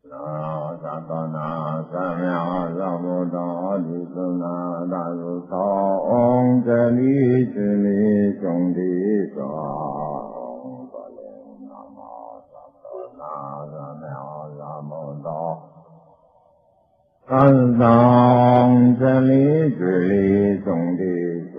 萨多那三藐三菩提斯那大如通真理之理兄弟说。南无萨多那三藐三菩提三藏真理之理兄弟说。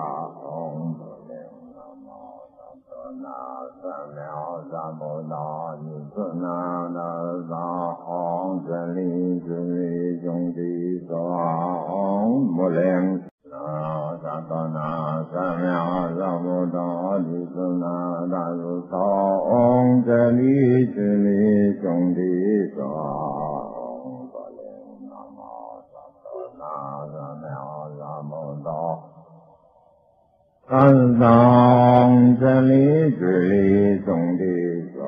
三菩提斯那那萨吽真理之理兄弟说。无量萨多那三藐三菩提斯那大如通真理之理兄弟说。南无萨多那三藐三菩提三藏真理之理兄弟说。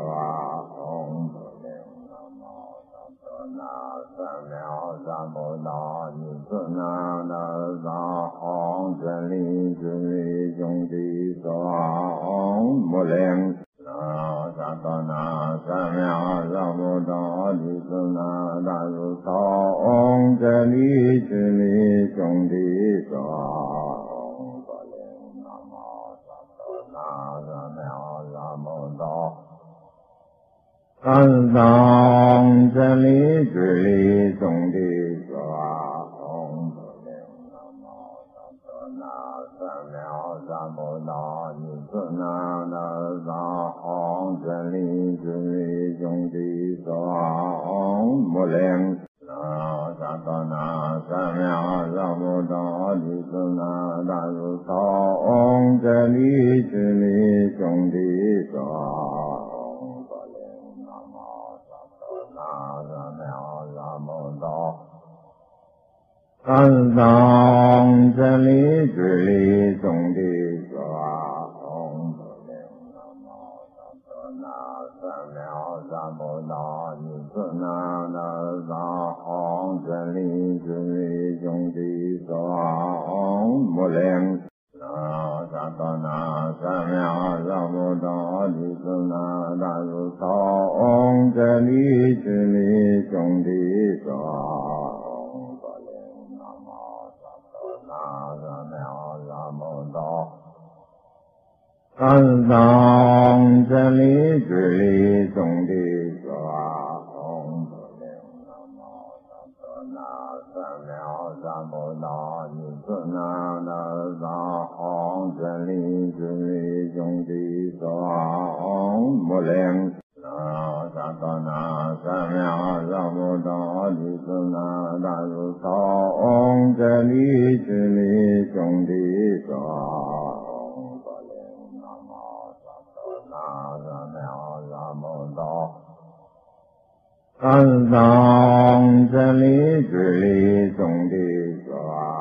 南无萨多那三藐三菩提斯那那萨吽真理之理兄弟说。无量萨多那三藐三菩提斯那大如通真理之理兄弟说。三藏真理之理兄弟说。南无萨多那三藐三菩提斯那那萨吽真理之理兄弟说。无量萨多那三藐三菩提斯那大如通真理之理兄弟说。三藏真理之理兄弟说。南无萨多那三藐三菩提斯那那萨吽真理之理兄弟说。无量萨多那三藐三菩提斯那大如通真理之理兄弟说。三藏真理之理兄弟说。南无萨多那三藐三菩提斯那那萨吽真理之理兄弟说。无量萨多那三藐三菩提斯那大如通真理之理兄弟说。三藏真理之理兄弟说。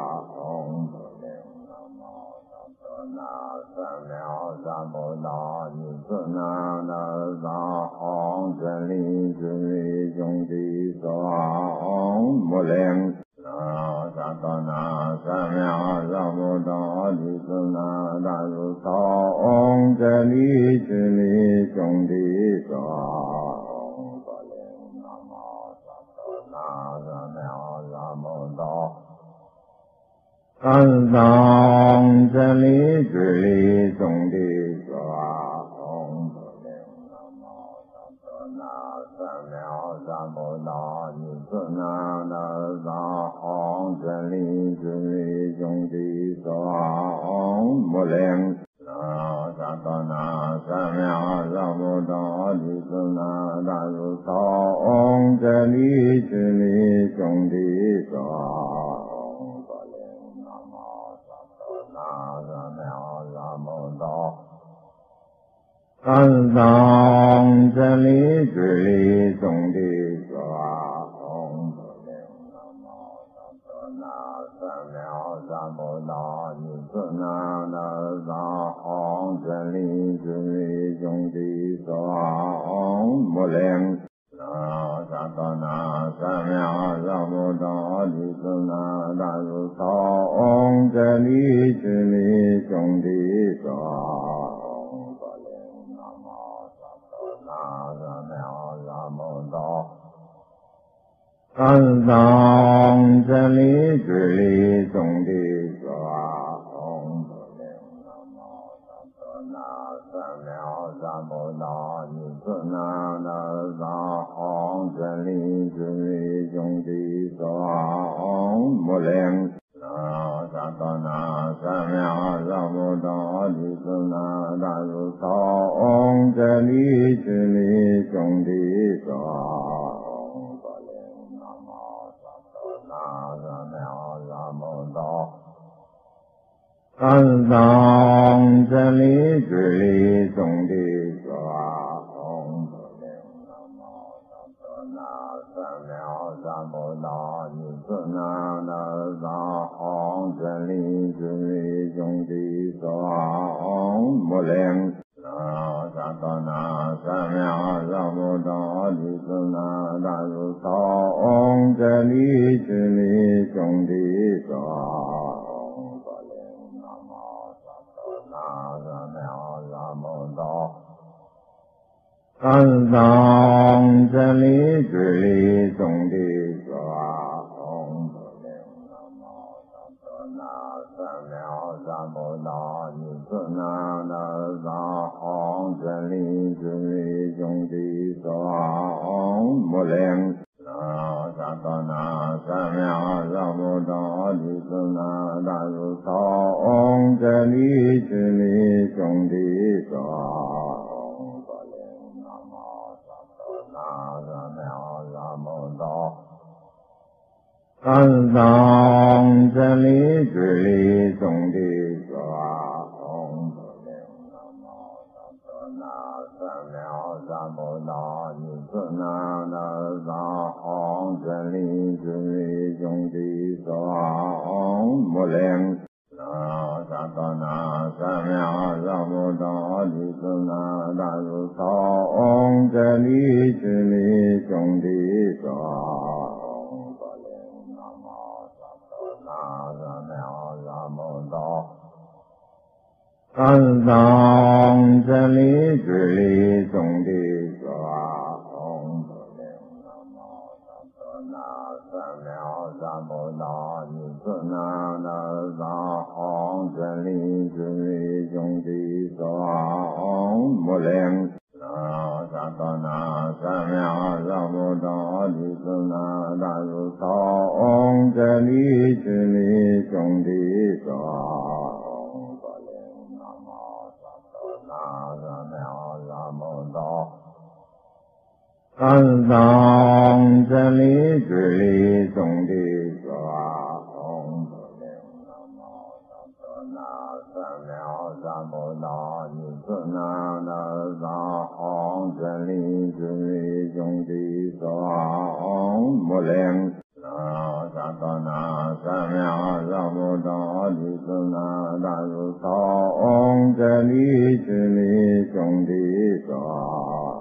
南无萨多那三藐三菩提斯那那萨吽真理之理兄弟说。无量萨多那三藐三菩提斯那大如通真理之理兄弟说。三藏真理之理兄弟说。南无萨多那三藐三菩提斯那那萨吽真理之理兄弟说。无量萨多那三藐三菩提斯那大如通真理之理兄弟说。三藏真理之理兄弟说。三藐三菩提斯那那萨吽真理之理兄弟说。无量萨多那三藐三菩提斯那大如通真理之理兄弟说。三藏三藏真理之理总的说唵不灵南无萨多那三藐三菩提尼尊那那萨唵真理之理总的说唵不灵那萨多那三藐三菩提尼尊那那萨唵真理之理总的说三藏真理之理总的说唵不灵南无萨多那三藐三菩提尼尊那那萨唵真理之理总的说唵不灵那萨多那三藐三菩提尼尊那那萨唵真理之理总的说三藏真理之理总的说唵不灵南无萨多那三藐三菩提尼尊那那萨唵真理之理总的说唵不灵那萨多那三藐三菩提尼尊那那萨唵真理之理总的说三藏真理之理总的说唵不灵南无萨多那三藐三菩提尼尊那那萨唵真理之理总的说唵不灵那萨多那三藐三菩提尼尊那那萨唵真理之理总的说三藏真理之理总的说唵不灵南无萨多那三藐三菩提尼尊那那萨唵真理之理总的说唵不灵那萨多那三藐三菩提尼尊那那萨唵真理之理总的说三藏真理之理总的说唵不灵南无萨多那三藐三菩提尼尊那那萨唵真理之理总的说唵不灵那萨多那三藐三菩提尼尊那那萨唵真理之理总的说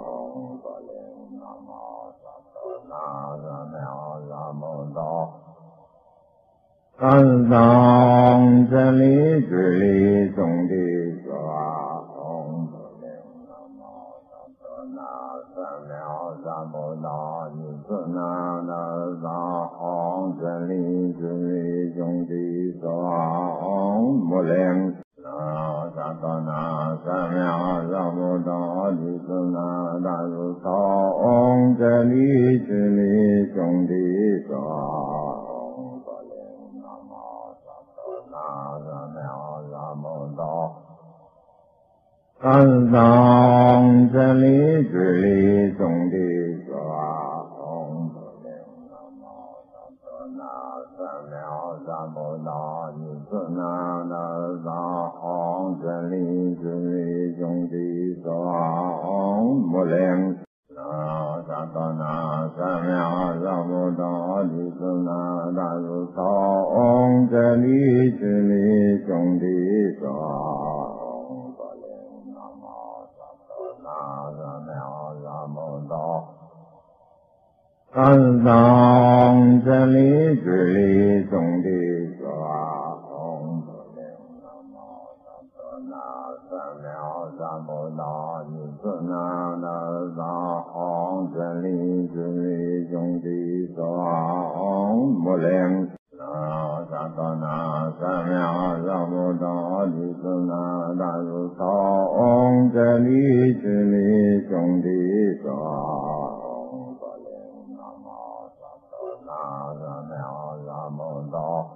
三藏真理之理总的说唵不灵南无萨多那三藐三菩提尼尊那那萨唵真理之理总的说唵不灵那萨多那三藐三菩提尼尊那那萨唵真理之理总的说三藏真理之理总的说唵不灵南无萨多那三藐三菩提尼尊那那萨唵真理之理总的说唵不灵那萨多那三藐三菩提尼尊那那萨唵真理之理总的说三藏真理之理总的说唵不灵南无萨多那三藐三菩提尼尊那那萨唵真理真理兄弟双不灵萨多那三藐三菩提子那大如双真理真理兄弟双不灵南无萨多那三藐三菩提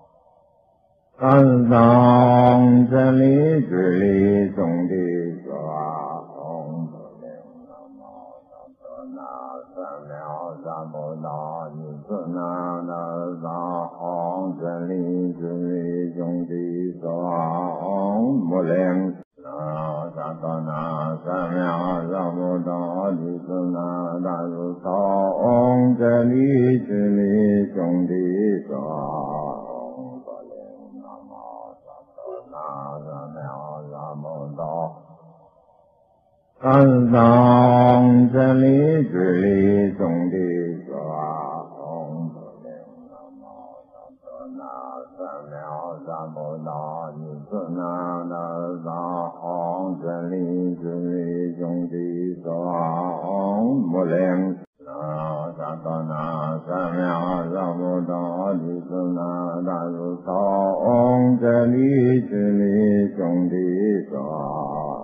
三藏真理真理兄弟双不灵南无萨多那三藐三菩提子那大藏真理真理兄弟双不灵萨多那三藐三菩提子那大如藏真理真理兄弟双三藏真理真理兄弟双不灵南无萨多那三藐三菩提子那大藏真理真理兄弟双不灵萨多那三藐三菩提子那大如藏真理真理兄弟双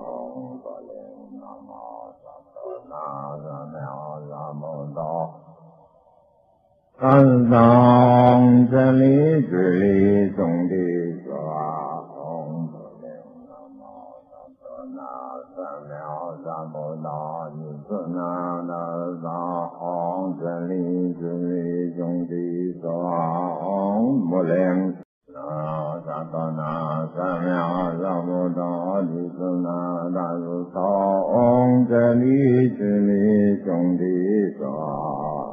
三藏真理真理兄弟双不灵南无萨多那三藐三菩提子那大藏真理真理兄弟双不灵萨多那三藐三菩提子那大如藏真理真理兄弟双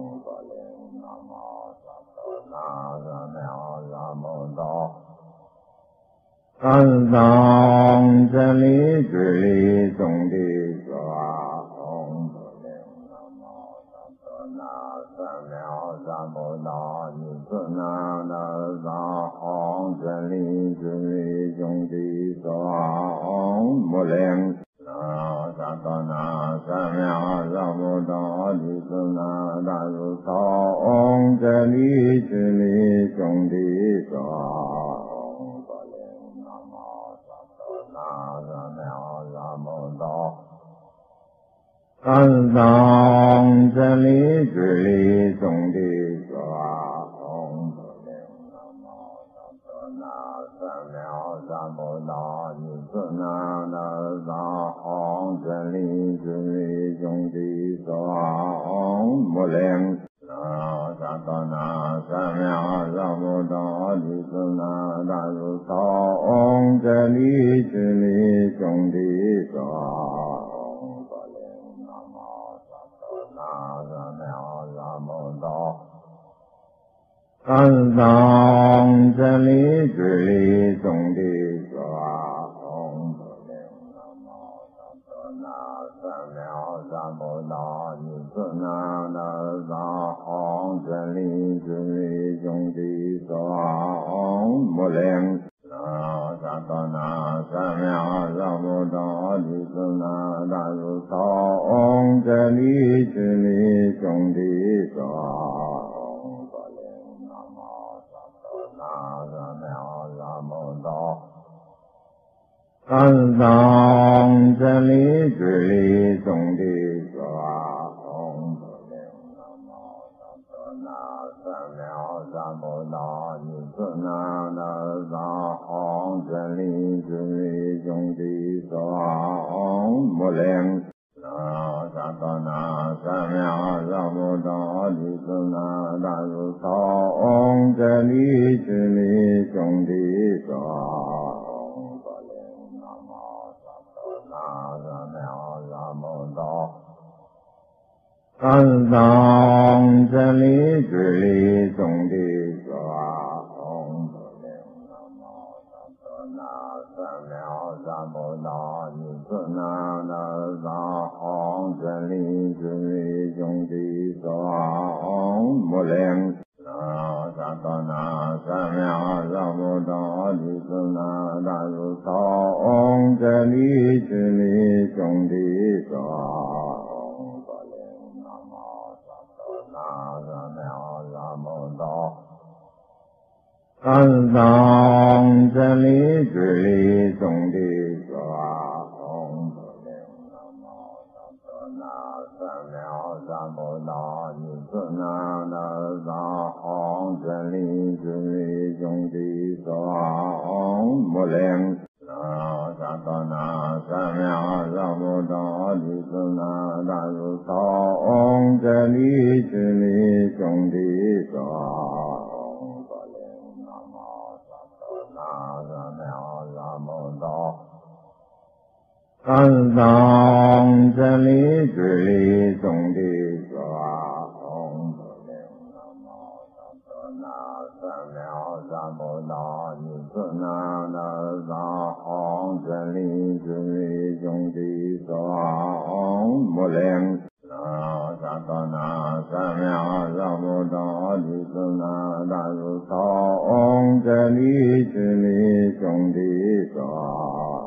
三藏真理真理兄弟双不灵南无萨多那三藐三菩提子那大藏真理真理兄弟双不灵萨多那三藐三菩提子那大如藏真理真理兄弟双三藏真理真理兄弟双不灵南无萨多那三藐三菩提子那大藏真理真理兄弟双不灵萨多那三藐三菩提子那大如藏真理真理兄弟双三藏真理真理兄弟双不灵南无萨多那三藐三菩提子那大藏真理真理兄弟双不灵萨多那三藐三菩提子那大如藏真理真理兄弟双三藏真理真理兄弟双不灵南无萨多那三藐三菩提子那大藏真理真理兄弟双不灵萨多那三藐三菩提子那大如藏真理真理兄弟双三藏真理真理兄弟双不灵南无萨多那三藐三菩提子那大藏真理真理兄弟双不灵萨多那三藐三菩提子那大如藏真理真理兄弟双不灵那三藐三菩提，你自那那三行真理真理兄弟三无量。那萨多那三藐三菩提，你自那大如三行真理真理兄弟三无量。那么萨多那三藐三菩提。三藏真理智理总的说唵不灵。那么萨多那三藐三菩提，你自那那三行真理智理总的说唵不灵。那萨多那三藐三菩提，你自那大如三行真理智理总的说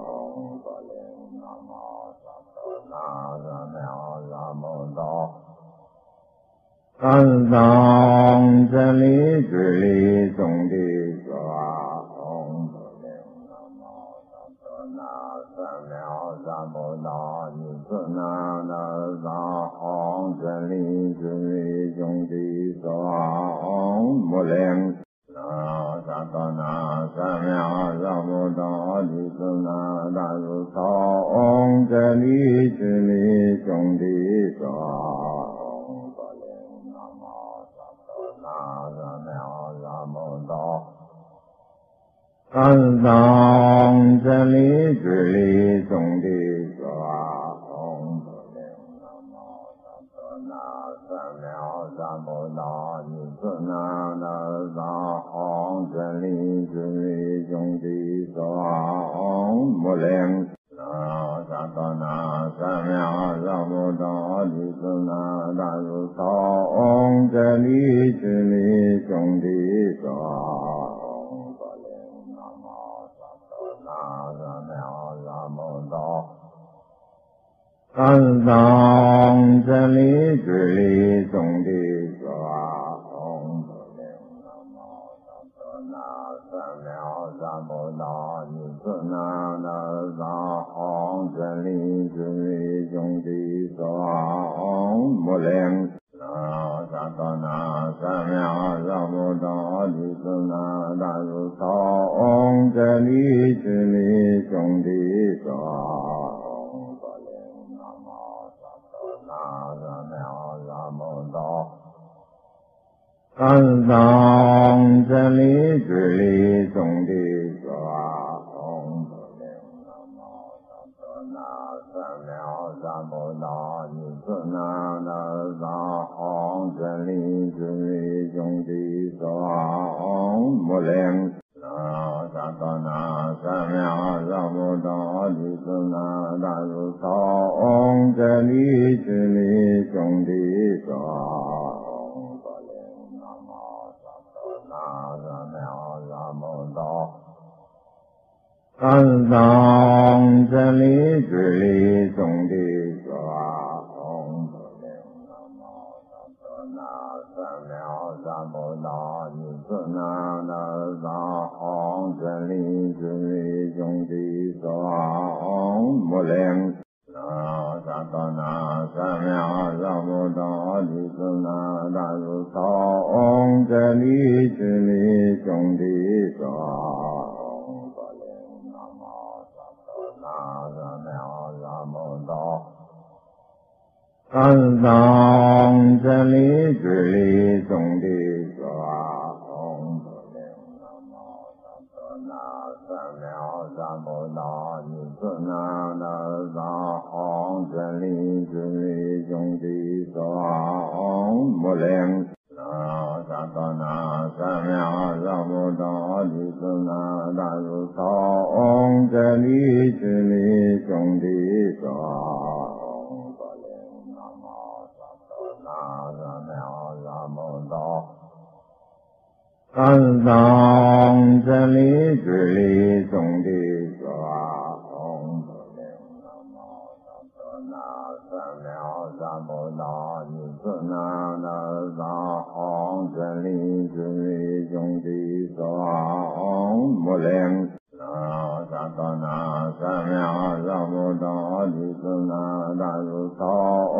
三藏真理智理总的说唵不灵。那么萨多那三藐三菩提，你自那那三行真理智理总的说唵不灵。那萨多那三藐三菩提，你自那大如三行真理智理总的说唵不灵。那么萨多那三藐三菩提，三藏真理智理总的说唵不灵。那么萨多那三藐三菩提，你自那那三行真理智理总的说唵不灵。那萨多那三藐三菩提，你自那大如三行真理智理总的说唵不灵。那么萨多那三藐三菩提，三藏真理智理总的说唵不灵。那么萨多那三藐三菩提，你自那那三行真理智理总的说唵不灵。那萨多那三藐三菩提，你自那大如三行真理智理总的说唵不灵。那么萨多那三藐三菩提，三藏真理智理总的说唵不灵。那么萨多那三藐三菩提，你自那那三行真理智理总的说唵不灵。那萨多那三藐三菩提，你自那大如三行真理智理总的说唵不灵。那么萨多那三藐三菩提，三藏真理智理总的说唵不灵。那么萨多那三藐三菩提，你自那那三行真理智理总的说唵不灵。那萨多那三藐三菩提，你自那大如三行真理智理总的说唵不灵。那么萨多那三藐三菩提，三藏真理智理总的说唵不灵。那么萨多那三藐三菩提，你自那那三行真理智理总的说唵不灵。那萨多那三藐三菩提，你自那大如三行真理智理总的说唵不灵。那么萨多那三藐三菩提，三藏真理智理总的说唵不灵。那么萨多那三藐三菩提，你自那那三行真理智理总的说唵不灵。那萨多那三藐三菩提，你自那大如三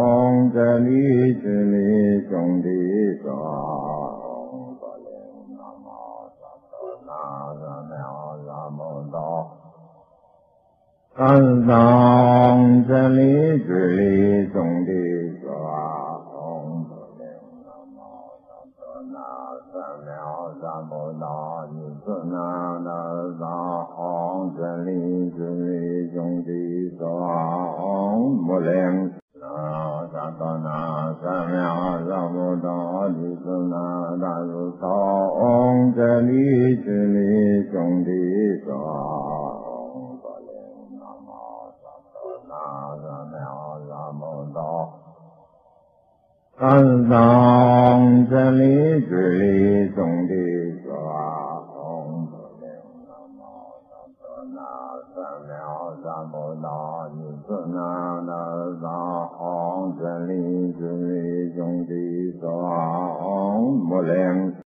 这里之理兄弟说，不灵南无萨多那萨妙萨摩多，三藏这里之理兄弟说，不灵南无萨多那萨妙萨摩多，你是那那萨这里之理兄弟说，不灵。萨多那萨妙萨摩多，你是那大如头，这里之理兄弟说，不灵南无萨多那萨妙萨摩多，三藏这里之理兄弟说，不灵南无萨多那萨妙萨摩多，你是那大萨这里之理兄弟说，不灵。